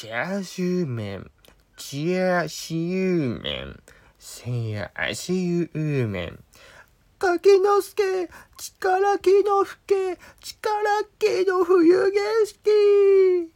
チャーシュー麺、チャーシュー麺、せやしゅう麺。柿の助、力気の吹け、力気の冬景色。